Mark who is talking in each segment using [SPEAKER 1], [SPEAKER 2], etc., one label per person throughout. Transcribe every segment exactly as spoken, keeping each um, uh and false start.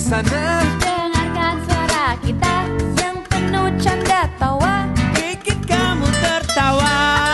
[SPEAKER 1] sana.
[SPEAKER 2] Dengarkan suara kita yang penuh canda tawa,
[SPEAKER 3] bikin kamu tertawa.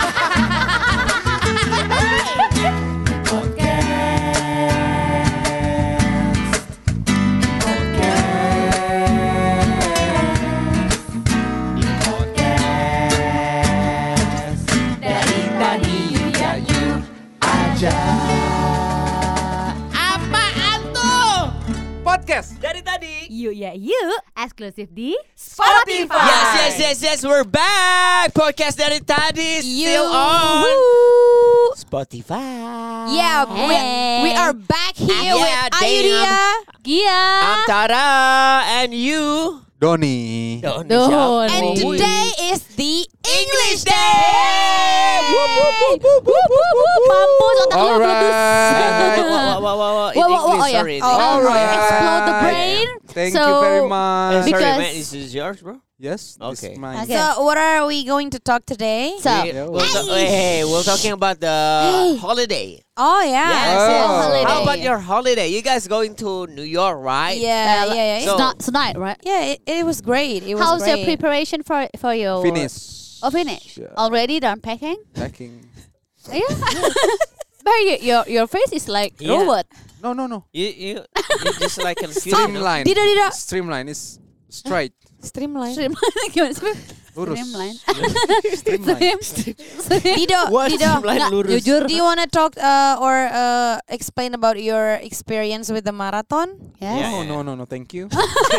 [SPEAKER 1] Apaan tuh? Podcast
[SPEAKER 3] Dari tadi.
[SPEAKER 2] yuk ya yuk, eksklusif di
[SPEAKER 1] Spotify.
[SPEAKER 3] Yes, yes, yes, yes, we're back. Podcast dari tadi still on Spotify.
[SPEAKER 4] Yeah, we, we are back here
[SPEAKER 3] Yeah,
[SPEAKER 4] with
[SPEAKER 3] damn.
[SPEAKER 4] Ayudia.
[SPEAKER 2] Gia
[SPEAKER 3] I'm Tara and you.
[SPEAKER 1] Doni.
[SPEAKER 3] Doni.
[SPEAKER 2] Doni.
[SPEAKER 4] And
[SPEAKER 2] Oh,
[SPEAKER 4] today is the English Day.
[SPEAKER 3] Whoop, whoop, whoop, whoop, whoop, whoop, whoop.
[SPEAKER 2] mampus otak lu
[SPEAKER 1] Alright.
[SPEAKER 2] meletus.
[SPEAKER 3] Wah, wah, wah, wah, wah. In
[SPEAKER 2] Wah, wah, wah,
[SPEAKER 3] English,
[SPEAKER 2] oh, yeah.
[SPEAKER 3] sorry.
[SPEAKER 4] Oh,
[SPEAKER 1] Alright.
[SPEAKER 2] Explode the brain.
[SPEAKER 1] Thank
[SPEAKER 2] So,
[SPEAKER 1] you very
[SPEAKER 3] Eh,
[SPEAKER 1] much.
[SPEAKER 3] sorry,
[SPEAKER 2] Because-
[SPEAKER 3] man. This is yours, bro.
[SPEAKER 1] Yes, this
[SPEAKER 3] Okay.
[SPEAKER 1] is mine.
[SPEAKER 2] Okay.
[SPEAKER 4] So, what are we going to talk today?
[SPEAKER 2] So,
[SPEAKER 3] We,
[SPEAKER 1] Yeah,
[SPEAKER 3] we'll ta- hey, we're talking about the holiday.
[SPEAKER 4] Oh yeah.
[SPEAKER 3] Yes.
[SPEAKER 1] Oh.
[SPEAKER 3] yes.
[SPEAKER 2] Holiday.
[SPEAKER 3] How about your holiday? You guys going to New York, right?
[SPEAKER 4] Yeah,
[SPEAKER 2] Uh,
[SPEAKER 4] yeah, yeah.
[SPEAKER 2] it's
[SPEAKER 3] So-
[SPEAKER 2] not tonight, right?
[SPEAKER 4] yeah, it, it was great. It was
[SPEAKER 2] How's
[SPEAKER 4] great.
[SPEAKER 2] your preparation for for your
[SPEAKER 1] Finish.
[SPEAKER 2] Oh, finish.
[SPEAKER 1] Yeah.
[SPEAKER 2] Already done packing?
[SPEAKER 1] Packing.
[SPEAKER 2] Yeah. But your, your your face is like
[SPEAKER 3] Yeah.
[SPEAKER 2] robot.
[SPEAKER 1] No, no, no.
[SPEAKER 3] You you you just like confused. you know?
[SPEAKER 1] Streamline.
[SPEAKER 4] Dida, dida.
[SPEAKER 1] Streamline is straight.
[SPEAKER 4] Streamline.
[SPEAKER 2] Streamline. Gimana sih?
[SPEAKER 1] Lurus.
[SPEAKER 2] Streamline.
[SPEAKER 1] Streamline.
[SPEAKER 2] Stream.
[SPEAKER 4] Dido,
[SPEAKER 3] What?
[SPEAKER 4] Dido.
[SPEAKER 3] Streamline
[SPEAKER 2] Nggak,
[SPEAKER 3] lurus.
[SPEAKER 2] jujur.
[SPEAKER 4] Do you want to talk uh, or uh, explain about your experience with the marathon?
[SPEAKER 2] Yes.
[SPEAKER 3] Yeah,
[SPEAKER 1] No,
[SPEAKER 3] yeah.
[SPEAKER 1] no, no, no. Thank you.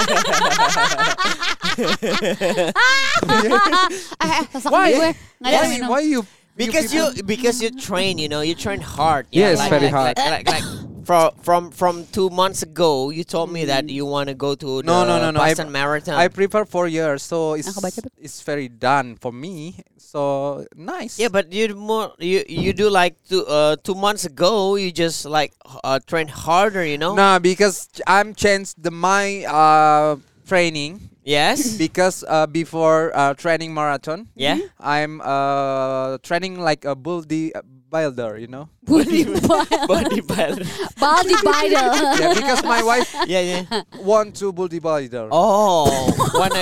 [SPEAKER 2] Eh, eh, sesak
[SPEAKER 1] Why?
[SPEAKER 2] gue. Nggak ada
[SPEAKER 1] Why?
[SPEAKER 2] minum.
[SPEAKER 1] Why you?
[SPEAKER 3] Because you
[SPEAKER 1] people-
[SPEAKER 3] because you train, you know, you train hard.
[SPEAKER 1] Yes,
[SPEAKER 3] like,
[SPEAKER 1] very
[SPEAKER 3] like,
[SPEAKER 1] hard.
[SPEAKER 3] Like, like, like from from from two months ago, you told me that you want to go to the
[SPEAKER 1] No, no, no, no. I-
[SPEAKER 3] Boston Marathon.
[SPEAKER 1] I prepare for years, so it's
[SPEAKER 2] Aku baca, Beb.
[SPEAKER 1] it's very done for me. So nice.
[SPEAKER 3] yeah, but you more you you do like two uh two months ago. You just like uh train harder, you know.
[SPEAKER 1] No, because I'm changed the my uh training
[SPEAKER 3] Yes.
[SPEAKER 1] because uh before uh training marathon,
[SPEAKER 3] Yeah.
[SPEAKER 1] I'm uh training like a buldy builder, you know.
[SPEAKER 2] Body
[SPEAKER 3] Body builder.
[SPEAKER 2] Body builder.
[SPEAKER 1] Yeah, because my wife
[SPEAKER 3] Yeah, yeah.
[SPEAKER 1] want to buldy builder.
[SPEAKER 3] Oh, wanna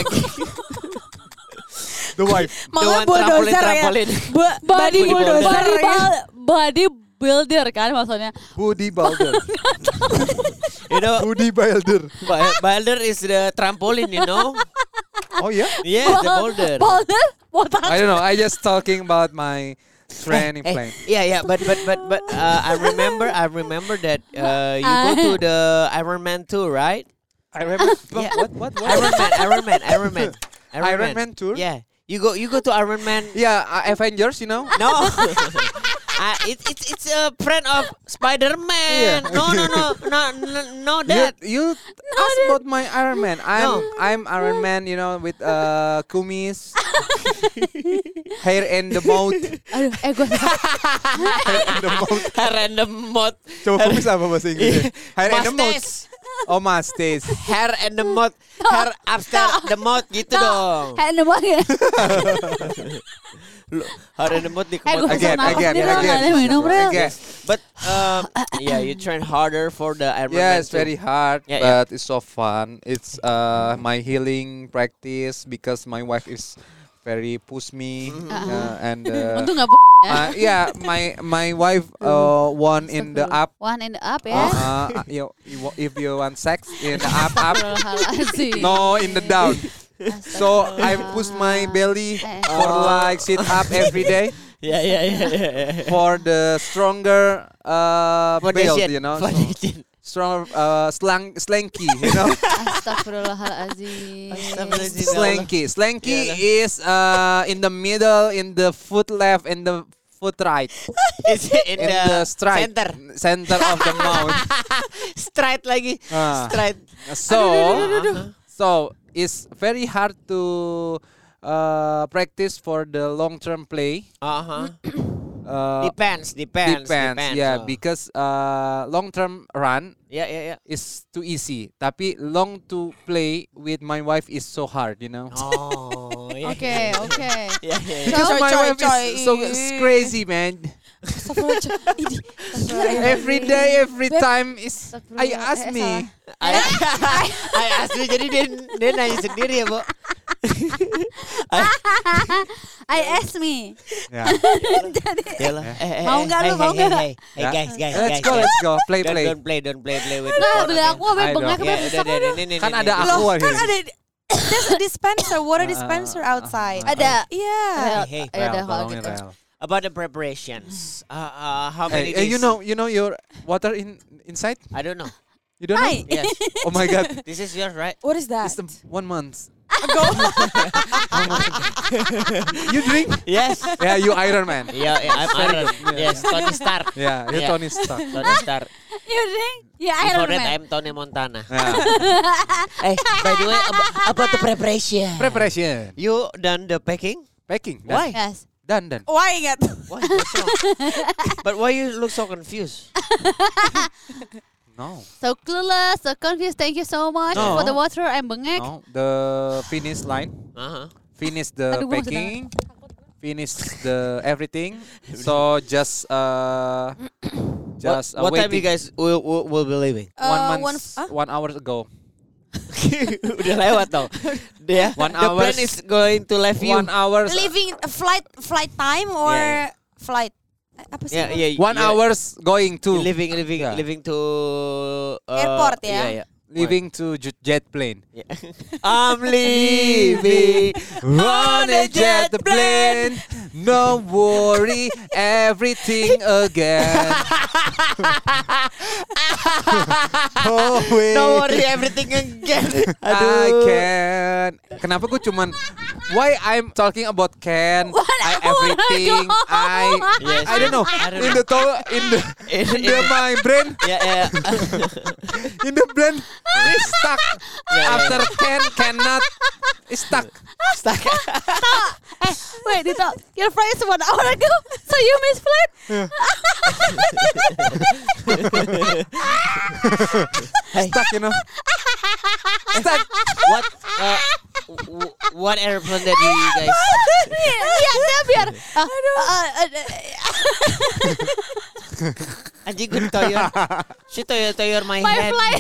[SPEAKER 1] The wife.
[SPEAKER 3] the one trampolin trampolin.
[SPEAKER 4] Bu-
[SPEAKER 2] Body
[SPEAKER 3] Body
[SPEAKER 2] builder.
[SPEAKER 3] builder.
[SPEAKER 2] Body bul- Body builder kan maksudnya.
[SPEAKER 1] Buldy builder.
[SPEAKER 3] You know,
[SPEAKER 1] Buldy builder.
[SPEAKER 3] bu- builder is the trampoline. You know.
[SPEAKER 1] Oh yeah.
[SPEAKER 3] Yeah, the boulder.
[SPEAKER 2] Boulder? Botak.
[SPEAKER 1] I don't know. I just talking about my training
[SPEAKER 3] Eh,
[SPEAKER 1] plan.
[SPEAKER 3] yeah, yeah, but but but but uh, I remember I remember that uh, you go to the Iron Man tour, right?
[SPEAKER 1] I remember.
[SPEAKER 3] Yeah.
[SPEAKER 1] What? What? What?
[SPEAKER 3] Iron Man, Iron Man, Iron Man,
[SPEAKER 1] Iron Man tour?
[SPEAKER 3] Yeah, you go you go to Iron Man.
[SPEAKER 1] Yeah, uh, Avengers, you know.
[SPEAKER 3] No, uh, it, it's it's a friend of Spider Man.
[SPEAKER 1] Yeah.
[SPEAKER 3] No, no, no, no, no, no,
[SPEAKER 1] You,
[SPEAKER 3] that.
[SPEAKER 1] you ask about my Iron Man. I'm
[SPEAKER 3] No.
[SPEAKER 1] I'm Iron Man, you know, with uh kumis, hair and the mouth.
[SPEAKER 2] Aduh, eh gue
[SPEAKER 1] Hair and the mouth.
[SPEAKER 3] Random mod.
[SPEAKER 1] Coba kumis apa bahasa Inggrisnya? Hair and the mouth.
[SPEAKER 3] Mustache.
[SPEAKER 1] Oh, mustache.
[SPEAKER 3] Hair and the mouth. Hair upstairs the mouth gitu dong.
[SPEAKER 2] hand banget.
[SPEAKER 3] Lu- Hair and the mouth di
[SPEAKER 2] Eh gue
[SPEAKER 3] kemot.
[SPEAKER 1] Again,
[SPEAKER 2] pesen apa
[SPEAKER 1] again,
[SPEAKER 2] sendiri lah,
[SPEAKER 1] again.
[SPEAKER 2] nggak ada minum Rel.
[SPEAKER 1] Again.
[SPEAKER 3] But um, yeah, you train harder for the Iron
[SPEAKER 1] Yeah,
[SPEAKER 3] Man
[SPEAKER 1] it's
[SPEAKER 3] too.
[SPEAKER 1] very hard,
[SPEAKER 3] Yeah, yeah.
[SPEAKER 1] but it's so fun. It's uh my healing practice because my wife is very push me uh, and uh,
[SPEAKER 2] Untung nggak bu- ya.
[SPEAKER 1] uh, yeah, my my wife uh one in the up.
[SPEAKER 2] One in the up
[SPEAKER 1] Uh,
[SPEAKER 2] ya.
[SPEAKER 1] uh, you, you wa- if you want sex in the up up,
[SPEAKER 2] Astagfirullahaladzim.
[SPEAKER 1] no in the down. So I push my belly for like sit up every day
[SPEAKER 3] Yeah, yeah, yeah, yeah, yeah.
[SPEAKER 1] for the stronger uh build,
[SPEAKER 3] Foundation,
[SPEAKER 1] you know, so
[SPEAKER 3] foundation.
[SPEAKER 1] stronger uh slang slanky, you know.
[SPEAKER 2] Astagfirullahaladzim.
[SPEAKER 3] Astagfirullahaladzim.
[SPEAKER 1] Slanky. Slanky
[SPEAKER 3] Yeah.
[SPEAKER 1] is uh in the middle, in the foot left, and the foot right,
[SPEAKER 3] It's in,
[SPEAKER 1] in
[SPEAKER 3] the,
[SPEAKER 1] the straight
[SPEAKER 3] center.
[SPEAKER 1] center of the mouth.
[SPEAKER 3] Straight lagi.
[SPEAKER 1] Ah.
[SPEAKER 3] Straight.
[SPEAKER 1] So, so it's very hard to uh, practice for the long term play.
[SPEAKER 3] Uh-huh.
[SPEAKER 1] Uh,
[SPEAKER 3] Depends, depends,
[SPEAKER 1] depends, yeah,
[SPEAKER 3] oh.
[SPEAKER 1] because uh, long term run
[SPEAKER 3] Yeah, yeah, yeah.
[SPEAKER 1] is too easy. Tapi long to play with my wife is so hard, you know.
[SPEAKER 3] Oh, yeah.
[SPEAKER 2] Oke, oke.
[SPEAKER 3] Yeah, yeah, yeah.
[SPEAKER 1] Because
[SPEAKER 4] Coy,
[SPEAKER 1] my
[SPEAKER 4] coy,
[SPEAKER 1] wife
[SPEAKER 4] coy.
[SPEAKER 1] is so is crazy, man.
[SPEAKER 4] Astagfirullahaladzim. Ini, astagfirullahaladzim.
[SPEAKER 1] Every day, every
[SPEAKER 4] Beb.
[SPEAKER 1] time is I
[SPEAKER 2] Astagfirullah.
[SPEAKER 1] ask
[SPEAKER 2] Eh,
[SPEAKER 1] me.
[SPEAKER 3] I, I asli jadi dia dia nanya sendiri ya, Bu.
[SPEAKER 2] I ask me.
[SPEAKER 1] Ya.
[SPEAKER 3] Yalah. Eh, eh,
[SPEAKER 2] Mau
[SPEAKER 3] eh,
[SPEAKER 2] nggak
[SPEAKER 3] hey,
[SPEAKER 2] lu, mau
[SPEAKER 3] hey,
[SPEAKER 2] nggak?
[SPEAKER 3] Hey, hey,
[SPEAKER 1] Ya.
[SPEAKER 3] guys, guys,
[SPEAKER 1] Let's
[SPEAKER 3] guys.
[SPEAKER 1] go,
[SPEAKER 3] guys.
[SPEAKER 1] let's go. Play,
[SPEAKER 3] Don't,
[SPEAKER 1] play.
[SPEAKER 3] don't play, don't play, play with the
[SPEAKER 2] Lah,
[SPEAKER 3] phone,
[SPEAKER 2] beli
[SPEAKER 3] okay?
[SPEAKER 2] aku abe
[SPEAKER 1] I
[SPEAKER 2] bengak
[SPEAKER 1] don't.
[SPEAKER 2] abe
[SPEAKER 3] Ya, udah,
[SPEAKER 2] besok
[SPEAKER 3] udah,
[SPEAKER 2] abe.
[SPEAKER 3] ini, ini,
[SPEAKER 1] Kan
[SPEAKER 3] ini,
[SPEAKER 1] ada
[SPEAKER 3] ini.
[SPEAKER 1] aku
[SPEAKER 4] Loh,
[SPEAKER 1] aja.
[SPEAKER 4] kan ada there's a dispenser, water dispenser outside.
[SPEAKER 2] Ada.
[SPEAKER 4] Yeah.
[SPEAKER 3] Hey, hey.
[SPEAKER 2] Ya udah
[SPEAKER 1] Rel,
[SPEAKER 2] kalau
[SPEAKER 1] tolongin,
[SPEAKER 2] gitu.
[SPEAKER 1] Rel.
[SPEAKER 3] About the preparations. Uh, uh, how many
[SPEAKER 1] Hey, eh,
[SPEAKER 3] days?
[SPEAKER 1] you know, you know your water in inside?
[SPEAKER 3] I don't know.
[SPEAKER 1] You don't know?
[SPEAKER 2] Hai.
[SPEAKER 3] Yes.
[SPEAKER 1] Oh my God,
[SPEAKER 3] This is yours, right?
[SPEAKER 4] What is that?
[SPEAKER 1] it's the one month. You drink?
[SPEAKER 3] Yes.
[SPEAKER 1] Yeah, you Iron Man.
[SPEAKER 3] Yeah, yeah, I'm Iron. Yes, Tony Stark.
[SPEAKER 1] Yeah, you
[SPEAKER 3] Yeah.
[SPEAKER 1] Tony Stark.
[SPEAKER 3] Tony Stark.
[SPEAKER 2] You think? Ya Iron
[SPEAKER 3] Before that,
[SPEAKER 2] Man.
[SPEAKER 3] I'm Tony Montana.
[SPEAKER 1] Yeah.
[SPEAKER 3] Hey, by the way, about, about the preparation.
[SPEAKER 1] Preparation,
[SPEAKER 3] You done the packing?
[SPEAKER 1] packing.
[SPEAKER 3] Why?
[SPEAKER 2] Yes.
[SPEAKER 1] Done, done.
[SPEAKER 4] Why nggak?
[SPEAKER 3] Why? What's wrong? But why you look so confused?
[SPEAKER 1] No,
[SPEAKER 2] So clueless, so confused. Thank you so much
[SPEAKER 1] No.
[SPEAKER 2] for the water. I'm bengek.
[SPEAKER 1] no. The finish line,
[SPEAKER 3] Uh-huh.
[SPEAKER 1] finish the
[SPEAKER 2] Aduh, gua masih
[SPEAKER 1] packing, finish the everything. So just uh, just uh,
[SPEAKER 3] what, what time you
[SPEAKER 1] waiting.
[SPEAKER 3] guys will, will, will be leaving?
[SPEAKER 1] One
[SPEAKER 4] Uh,
[SPEAKER 1] month,
[SPEAKER 4] one f- huh?
[SPEAKER 1] one hour ago.
[SPEAKER 3] Udah lewat tau. Dia,
[SPEAKER 1] One
[SPEAKER 3] the
[SPEAKER 1] hours.
[SPEAKER 3] plan is going to leave you.
[SPEAKER 1] One hour.
[SPEAKER 4] Leaving a flight flight time or
[SPEAKER 3] Yeah,
[SPEAKER 4] flight? Eh, Apa sih?
[SPEAKER 3] Yeah, yeah.
[SPEAKER 1] One
[SPEAKER 3] yeah.
[SPEAKER 1] hours going to
[SPEAKER 3] Living, living,
[SPEAKER 1] Yeah.
[SPEAKER 3] living to uh,
[SPEAKER 4] Airport, ya?
[SPEAKER 3] Yeah, yeah.
[SPEAKER 1] leaving to j- jet plane.
[SPEAKER 3] Yeah. I'm leaving on a jet plane.
[SPEAKER 1] No worry, everything again. Oh, wait.
[SPEAKER 3] No worry, everything again.
[SPEAKER 1] I
[SPEAKER 3] Aduh.
[SPEAKER 1] can. Kenapa gue cuman why I'm talking about can I everything I
[SPEAKER 3] Yes.
[SPEAKER 1] I don't know
[SPEAKER 3] I don't
[SPEAKER 1] in
[SPEAKER 3] know.
[SPEAKER 1] the to in the
[SPEAKER 3] In-
[SPEAKER 1] in the
[SPEAKER 3] in-
[SPEAKER 1] my brain
[SPEAKER 3] Yeah, yeah.
[SPEAKER 1] in the brain is stuck
[SPEAKER 3] yeah,
[SPEAKER 1] after can cannot is stuck.
[SPEAKER 3] Stuck.
[SPEAKER 2] Eh, wait, Dito. Your flight is one hour ago. So you miss flight?
[SPEAKER 3] Hey,
[SPEAKER 1] Stuck, you know. Stuck.
[SPEAKER 3] what? Uh, w- what airplane that you guys?
[SPEAKER 2] Iya, dia biar. Ah, ah, ah,
[SPEAKER 3] Anjing gue toyor. She toyor toyor my
[SPEAKER 2] My
[SPEAKER 3] head.
[SPEAKER 2] flight.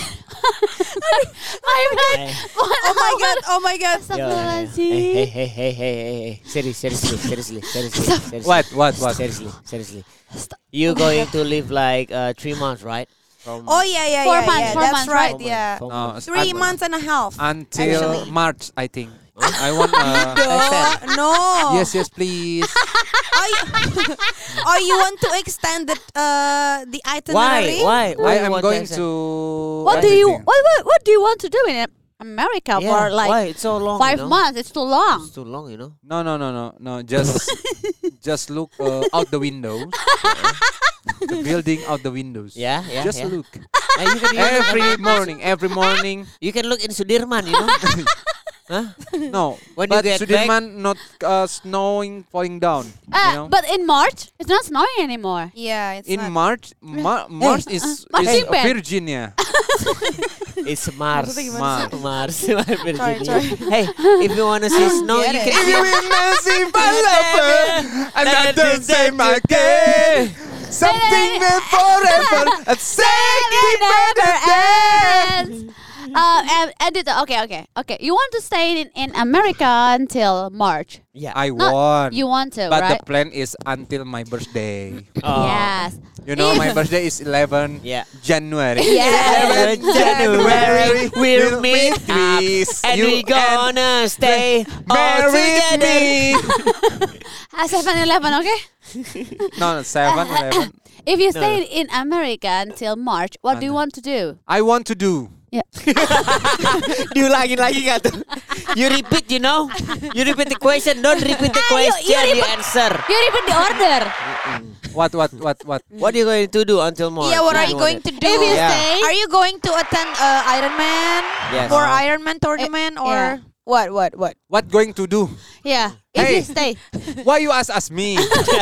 [SPEAKER 2] My flight.
[SPEAKER 3] Hey.
[SPEAKER 4] Oh my god, oh my god.
[SPEAKER 3] Yo, hey,
[SPEAKER 2] Astagfirullahaladzim.
[SPEAKER 3] hey, hey, hey, hey, hey, hey. Serious, seriously, seriously, seriously, seriously.
[SPEAKER 1] What what what?
[SPEAKER 3] Seriously, seriously. You going to live like uh, three months, right? From
[SPEAKER 4] Oh yeah, yeah,
[SPEAKER 2] Four
[SPEAKER 4] yeah,
[SPEAKER 2] months,
[SPEAKER 4] yeah.
[SPEAKER 2] four
[SPEAKER 4] That's
[SPEAKER 2] months,
[SPEAKER 4] right,
[SPEAKER 3] Four
[SPEAKER 4] yeah.
[SPEAKER 3] months, four
[SPEAKER 1] No,
[SPEAKER 3] months.
[SPEAKER 4] Three
[SPEAKER 1] un-
[SPEAKER 4] months and a half.
[SPEAKER 1] until
[SPEAKER 4] Actually.
[SPEAKER 1] March, I think. I want. Uh,
[SPEAKER 4] No, no.
[SPEAKER 1] yes, yes, please.
[SPEAKER 4] Oh, you, oh, you want to extend the uh the
[SPEAKER 3] Why?
[SPEAKER 4] itinerary?
[SPEAKER 3] Why? Why
[SPEAKER 1] I
[SPEAKER 3] you
[SPEAKER 1] am
[SPEAKER 3] want
[SPEAKER 1] going
[SPEAKER 3] extend?
[SPEAKER 1] to.
[SPEAKER 2] What do you
[SPEAKER 1] everything.
[SPEAKER 2] what, what what do you want to do in America
[SPEAKER 3] Yeah,
[SPEAKER 2] for like
[SPEAKER 3] why? It's so long.
[SPEAKER 2] five
[SPEAKER 3] you know?
[SPEAKER 2] months? It's too long.
[SPEAKER 3] It's too long, you know.
[SPEAKER 1] No, no, no, no, no. Just, just look uh, out the windows. The building out the windows.
[SPEAKER 3] Yeah, yeah,
[SPEAKER 1] Just
[SPEAKER 3] yeah.
[SPEAKER 1] look.
[SPEAKER 3] Uh, you can you can-
[SPEAKER 1] Every morning, every morning.
[SPEAKER 3] You can look in Sudirman, you know. Huh?
[SPEAKER 1] No,
[SPEAKER 3] When you
[SPEAKER 1] but
[SPEAKER 3] get
[SPEAKER 1] Sudirman not uh, snowing, falling down.
[SPEAKER 2] Uh,
[SPEAKER 1] you know?
[SPEAKER 2] But in March, it's not snowing anymore.
[SPEAKER 4] Yeah, it's
[SPEAKER 1] in
[SPEAKER 4] not.
[SPEAKER 1] March, Ma- Mars is,
[SPEAKER 2] Mars
[SPEAKER 1] is
[SPEAKER 2] Impact.
[SPEAKER 1] Virginia.
[SPEAKER 3] It's Mars.
[SPEAKER 4] Maksudnya
[SPEAKER 1] gimana
[SPEAKER 3] Mars.
[SPEAKER 1] sih?
[SPEAKER 3] Mars.
[SPEAKER 4] Sorry, sorry.
[SPEAKER 3] Hey, if you wanna see snow, you
[SPEAKER 4] Get
[SPEAKER 3] can.
[SPEAKER 4] it.
[SPEAKER 1] If you will not see my lover, I'm not the same again. Something that forever, a second better
[SPEAKER 2] ends. Uh, and, and it, okay, okay, okay. You want to stay in, in America until March.
[SPEAKER 3] Yeah.
[SPEAKER 1] I
[SPEAKER 2] Not-
[SPEAKER 1] want.
[SPEAKER 2] You want to,
[SPEAKER 1] But
[SPEAKER 2] right?
[SPEAKER 1] the plan is until my birthday.
[SPEAKER 3] Oh.
[SPEAKER 2] Yes.
[SPEAKER 1] You know,
[SPEAKER 2] If-
[SPEAKER 1] my birthday is eleven
[SPEAKER 3] Yeah.
[SPEAKER 1] January.
[SPEAKER 2] Yes.
[SPEAKER 3] January we'll meet up
[SPEAKER 1] please.
[SPEAKER 3] and
[SPEAKER 1] You
[SPEAKER 3] we gonna stay all
[SPEAKER 1] marry
[SPEAKER 3] together.
[SPEAKER 1] me.
[SPEAKER 2] Uh, seven eleven, okay?
[SPEAKER 1] No, no, seven, eleven.
[SPEAKER 2] If you
[SPEAKER 3] No,
[SPEAKER 2] stay in America until March, what do you want to do?
[SPEAKER 1] I want to do.
[SPEAKER 3] Diulangin lagi gak tuh? You repeat, you know? You repeat the question, don't repeat the
[SPEAKER 2] Ah, you-
[SPEAKER 3] question,
[SPEAKER 2] you
[SPEAKER 3] you,
[SPEAKER 2] repeat-
[SPEAKER 3] answer.
[SPEAKER 2] You repeat the order.
[SPEAKER 1] What, what, what, what?
[SPEAKER 3] What are you going to do until March?
[SPEAKER 4] Yeah, what are
[SPEAKER 3] You
[SPEAKER 4] you
[SPEAKER 3] want
[SPEAKER 4] going
[SPEAKER 3] it?
[SPEAKER 4] to do?
[SPEAKER 2] If you
[SPEAKER 3] Yeah.
[SPEAKER 2] stay,
[SPEAKER 4] Are you going to attend uh, Iron Man
[SPEAKER 3] Yes.
[SPEAKER 4] or
[SPEAKER 1] Uh,
[SPEAKER 4] Iron Man tournament or
[SPEAKER 2] yeah.
[SPEAKER 4] what? What? What?
[SPEAKER 1] What going to do?
[SPEAKER 2] yeah. If
[SPEAKER 1] Hey.
[SPEAKER 2] you stay,
[SPEAKER 1] Why you ask us me?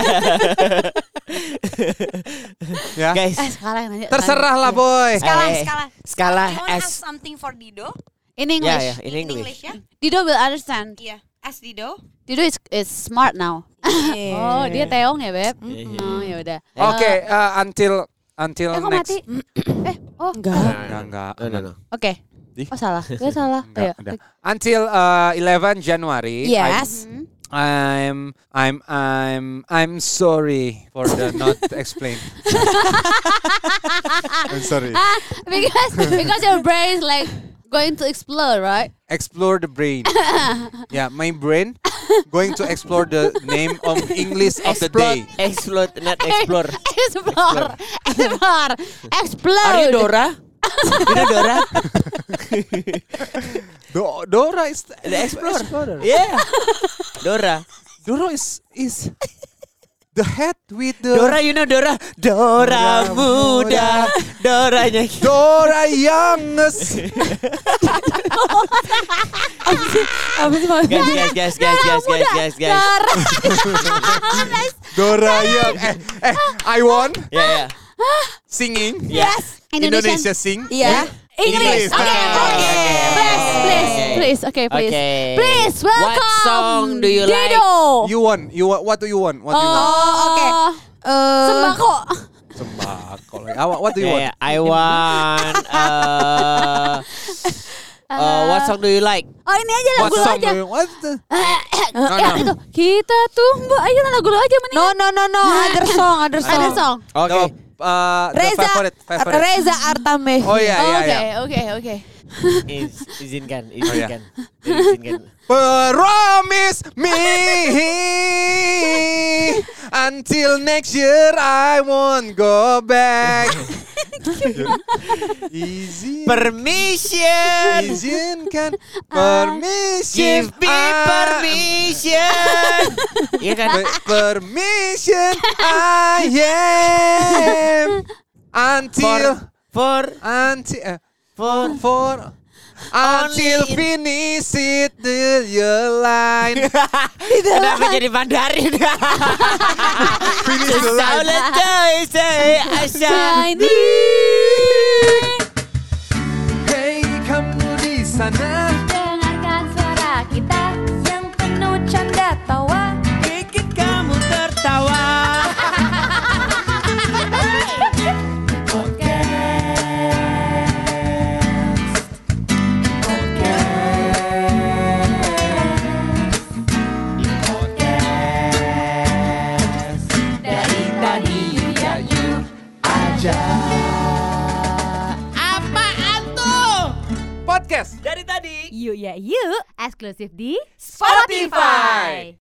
[SPEAKER 1] Ya.
[SPEAKER 3] Guys,
[SPEAKER 2] eh, sekarang nanya.
[SPEAKER 1] Terserah lah, boy.
[SPEAKER 4] Skala,
[SPEAKER 3] Eh,
[SPEAKER 4] skala.
[SPEAKER 3] skala
[SPEAKER 4] You want to
[SPEAKER 3] S.
[SPEAKER 4] ask something for Dido?
[SPEAKER 2] In English.
[SPEAKER 3] Yeah, yeah, in English.
[SPEAKER 4] ya?
[SPEAKER 2] Dido will understand.
[SPEAKER 4] Iya. Ask Dido.
[SPEAKER 2] Dido is, is smart now.
[SPEAKER 4] Yeah.
[SPEAKER 2] Oh, dia teong ya, Beb.
[SPEAKER 3] Mhm.
[SPEAKER 2] Oh, ya udah.
[SPEAKER 1] Oke, uh, until until
[SPEAKER 2] Eh, kok
[SPEAKER 1] next.
[SPEAKER 2] mati? eh, oh.
[SPEAKER 4] Enggak.
[SPEAKER 1] Enggak, enggak.
[SPEAKER 3] No, no, no.
[SPEAKER 2] Oke.
[SPEAKER 1] Di?
[SPEAKER 2] Oh, salah. Gue salah.
[SPEAKER 1] Enggak,
[SPEAKER 2] Ayo.
[SPEAKER 1] udah. Until uh, eleven January.
[SPEAKER 4] Yes.
[SPEAKER 2] Hmm.
[SPEAKER 1] I'm I'm I'm I'm sorry for the not explain. I'm sorry.
[SPEAKER 2] Ah, because because your brain is like going to explode, right?
[SPEAKER 1] Explore the brain. Yeah, my brain going to explore the name of English of the day.
[SPEAKER 3] Explode, not explore.
[SPEAKER 2] Explore. Explore. Explode.
[SPEAKER 3] Are you Dora? You know Dora?
[SPEAKER 1] Do- Dora is
[SPEAKER 3] The Explorer.
[SPEAKER 1] Explorer.
[SPEAKER 3] Yeah. Dora.
[SPEAKER 1] Dora is is the head with the
[SPEAKER 3] Dora, you know Dora? Dora
[SPEAKER 1] Dora
[SPEAKER 3] muda. Doranya.
[SPEAKER 1] Dora youngest.
[SPEAKER 4] Apa sih Mas?
[SPEAKER 3] Guys, guys, guys, guys, guys, guys, guys, guys.
[SPEAKER 1] Dora young. Eh, eh, I won
[SPEAKER 3] Yeah, yeah.
[SPEAKER 1] singing.
[SPEAKER 3] Yes.
[SPEAKER 2] Indonesian.
[SPEAKER 1] Indonesia sing.
[SPEAKER 4] Iya.
[SPEAKER 2] English.
[SPEAKER 1] English.
[SPEAKER 2] Okay,
[SPEAKER 1] Okay.
[SPEAKER 2] please, please, please. Okay, please.
[SPEAKER 3] Okay.
[SPEAKER 2] Please welcome.
[SPEAKER 3] What song do you like?
[SPEAKER 2] Dido.
[SPEAKER 1] You won. You want? What do you want? What do you want?
[SPEAKER 4] Oh, oke. Eh,
[SPEAKER 2] Sembako.
[SPEAKER 1] Sembako. Like, ah, what do you
[SPEAKER 3] Yeah,
[SPEAKER 1] want?
[SPEAKER 3] yeah. I want. Uh, uh, what song do you like?
[SPEAKER 2] Oh, ini aja
[SPEAKER 1] What
[SPEAKER 2] lagu lo
[SPEAKER 1] song
[SPEAKER 2] aja.
[SPEAKER 1] do you want?
[SPEAKER 2] Eh,
[SPEAKER 1] no.
[SPEAKER 2] itu kita tunggu. Ayo lagu lo aja mending.
[SPEAKER 4] No no no no, other song, other song.
[SPEAKER 2] Ada song.
[SPEAKER 3] Okay.
[SPEAKER 1] The, uh, the
[SPEAKER 4] Reza
[SPEAKER 1] favorite, favorite.
[SPEAKER 4] Reza Artamevia.
[SPEAKER 1] Oh iya, iya,
[SPEAKER 2] Oke,
[SPEAKER 1] iya.
[SPEAKER 2] oke, oke.
[SPEAKER 3] Iz- izinkan,
[SPEAKER 1] Oh, yeah.
[SPEAKER 3] izinkan, izinkan.
[SPEAKER 1] Promise me until next year I won't go back. Izin,
[SPEAKER 3] Permission,
[SPEAKER 1] izinkan, permission,
[SPEAKER 3] give me
[SPEAKER 1] I-
[SPEAKER 3] permission. Iya kan?
[SPEAKER 1] Pe- permission I am until
[SPEAKER 3] For,
[SPEAKER 1] until uh,
[SPEAKER 3] for,
[SPEAKER 1] for until
[SPEAKER 3] Only-
[SPEAKER 1] finish it the year line.
[SPEAKER 3] Kenapa jadi Mandarin?
[SPEAKER 1] Finish the line.
[SPEAKER 3] Let's say I shine.
[SPEAKER 1] Hey kamu di sana,
[SPEAKER 2] Dengarkan suara kita.
[SPEAKER 4] Yang penuh canda tawa.
[SPEAKER 3] Bikin kamu tertawa. Apaan tuh?
[SPEAKER 1] podcast.
[SPEAKER 3] Dari tadi.
[SPEAKER 2] Yuk ya yuk. Eksklusif di
[SPEAKER 1] Spotify.